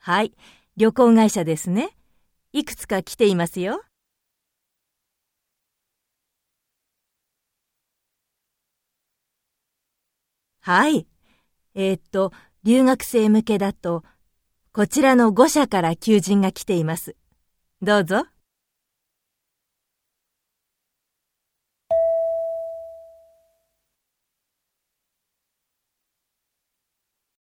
はい、旅行会社ですね。いくつか来ていますよ。はい。留学生向けだと、こちらの5社から求人が来ています。どうぞ。